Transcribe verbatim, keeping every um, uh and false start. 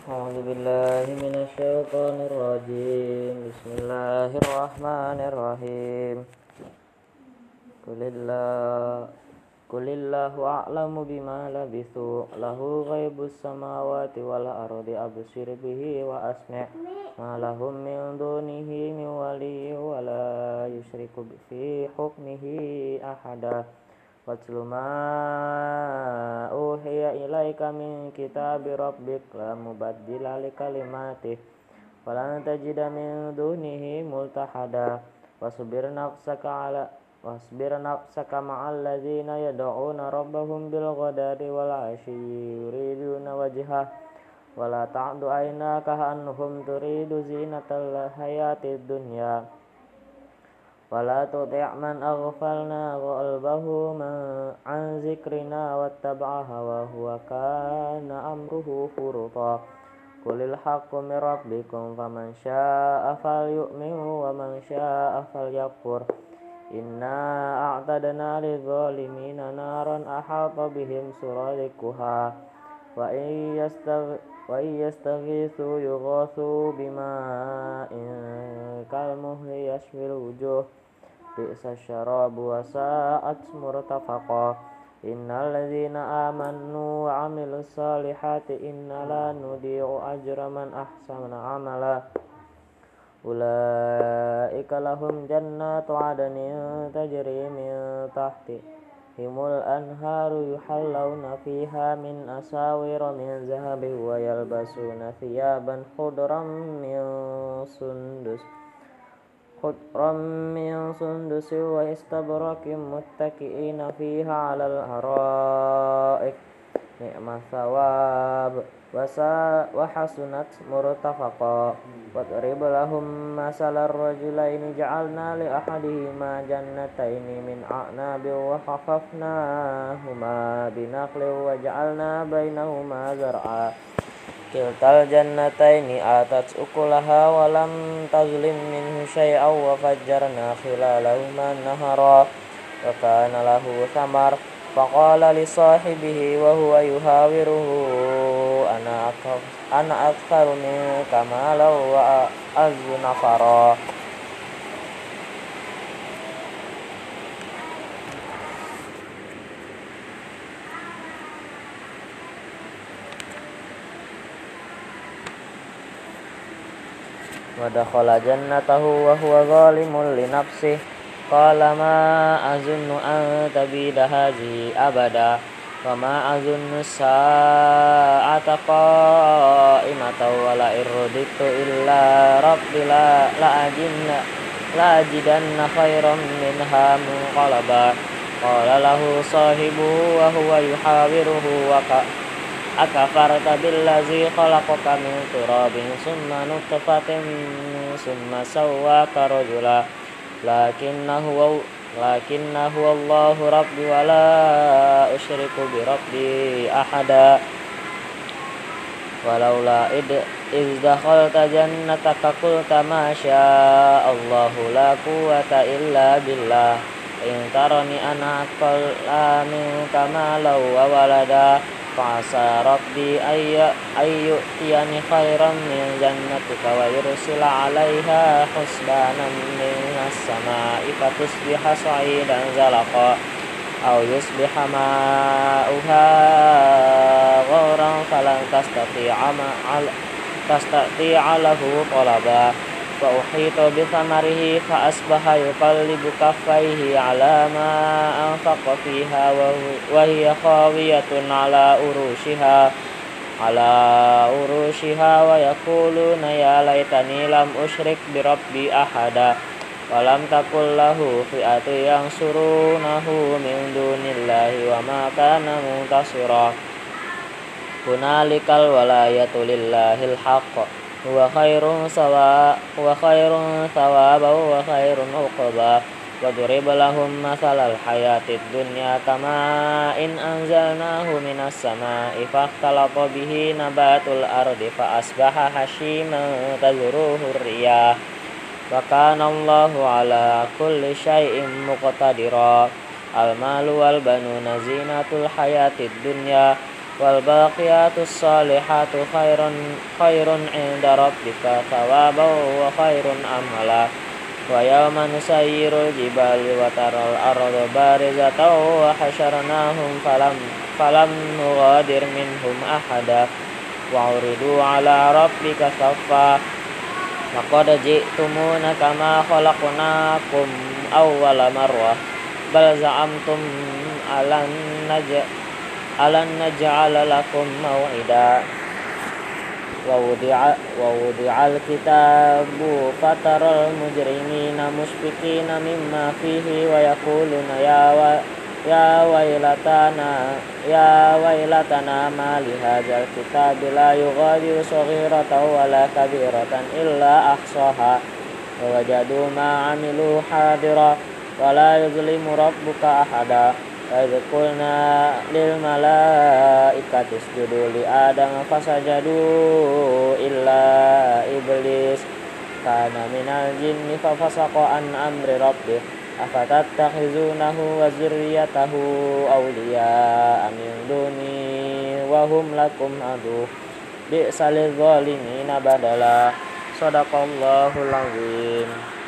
أعوذ بالله من الشيطان الرجيم بسم الله الرحمن الرحيم قل الله قل الله أعلم بما لبثوا له غيب السماوات والأرض أبصر به وأسمع ما لهم من دونه من ولي ولا يشرك في حكمه أحدا واتل ما أوحي إليك من كتاب ربك لا مبدل لكلماته ولن تجد من دونه ملتحدا واصبر نفسك على واصبر نفسك مع الذين يدعون ربهم بالغداة والعشي يريدون وجهه ولا تعد عيناك عنهم تريد زينة الحياة الدنيا ولا تطع من أغفلنا قلبه عن ذكرنا واتبع هواه وكان أمره فرطا قل الحق من ربكم فمن شاء فليؤمن ومن شاء فليكفر إنا أعتدنا للظالمين نارا أحاط بهم سرادقها وإن يستغ وإن يستغيثوا يغاثوا بماء كالمهل يشوي الوجوه بئس الشراب وساءت مرتفقا إن الذين آمنوا وعملوا الصالحات إنا لا نضيع أجر من أحسن عملا أولئك لهم جنات عدن تجري من تحتهم الأنهار يحلون فيها من أساور من ذهب ويلبسون ثيابا خضرا من سندس خضرا من سندس واستبرق متكئين فيها على الأرائك نعم الثواب وحسنت مرتفقا واضرب لهم مثل الرجلين جعلنا لأحدهما جنتين من أعناب وحففناهما بنخل وجعلنا بينهما زرعا كلتا الجنتين آتت أكلها ولم تظلم منه شيئا وفجرنا خلالهما نهرا وكان له ثمر فقال لصاحبه وهو يحاوره أنا أكثر منك مالا وأعز نفرا ودخل جنته وهو ظالم لنفسه قال ما أظن أن تبيد هذه أبدا وما أظن الساعة قائمة ولئن رددت إلى ربي لأجدن خيرا منها منقلبا قال له صاحبه وهو يحاوره أكفرت بالذي خلقك من تراب ثم نطفة ثم سواك رجلا لكنه لكنه الله ربي ولا أشرك بربي أحدا ولولا إذ دخلت جنتك قلت ما شاء الله لا قوة إلا بالله إن ترني أنا أقل منك مالا وولدا فعسى ربي أن يؤتيني خيرا من جنتك ويرسل عليها حسبانا من السماء فتصبح صعيدا زلقا أو يصبح ماؤها غورا فلن تستطيع, تستطيع له طلبا فأحيط بثمره فأصبح يقلب كفيه على ما أنفق فيها وهي خاوية على أروشها على أروشها ويقولون يا ليتني لم أشرك بربي أحدا ولم تكن له فئة ينصرونه من دون الله وما كان منتصرا هنالك الولاية لله الحق هو خير سواء وخير ثوابا وخير عقبا وضرب لهم مثل الحياة الدنيا كماء إن أنزلناه من السماء فاختلط به نبات الأرض فأصبح هشيما تذروه الرياح وكان الله على كل شيء مقتدرا المال والبنون زينة الحياة الدنيا wal baqiyatus salihatu khairun khairun 'inda rabbika thawaban wa khairun amala. Wa yawma nusayyirul jibali wa taral arda barizatan wa hasyarnahum falam falam nughadir minhum ahada wa uridu ala rabbika saffa laqad ji'tumuna kama khalaqnakum awwala marrah bal za'amtum alan naj alan naj'ala lakum maw'ida. Wa wudi'a wa wudi'al kitabu fataral mujrimina mushfiqina mimma fihi wa yaquluna ya wa ya wailatana ya wailatana ma li hadzal kitabi la yughadiru saghiratan wala kabiratan illa ahsaha wa wajadu ma 'amilu hadira wa la yuzlimu rabbuka ahada. Wa idh qulna lil malaikati isjudu li adama fasajadu illa iblis kana minal jinni fafasaqa an amri rabbih afatattakhizunahu wa zurriyyatahu awliya'a min duni wa hum lakum adu bi'sa lidh-dhalimina badala. Shadaqallahul azim.